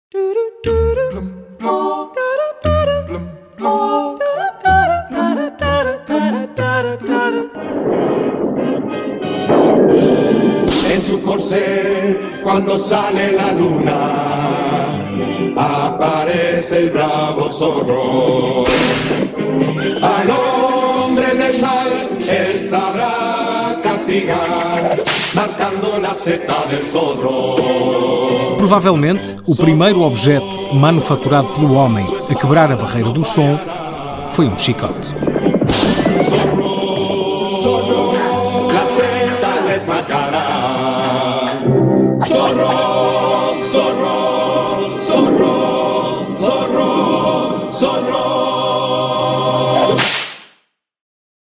En su corcel, cuando sale la luna, aparece el bravo zorro. Al hombre del mal, él sabrá castigar, marcando la seta del zorro. Provavelmente, o primeiro objeto manufaturado pelo homem a quebrar a barreira do som foi um chicote. Zorro, zorro, la seta les matará. Zorro.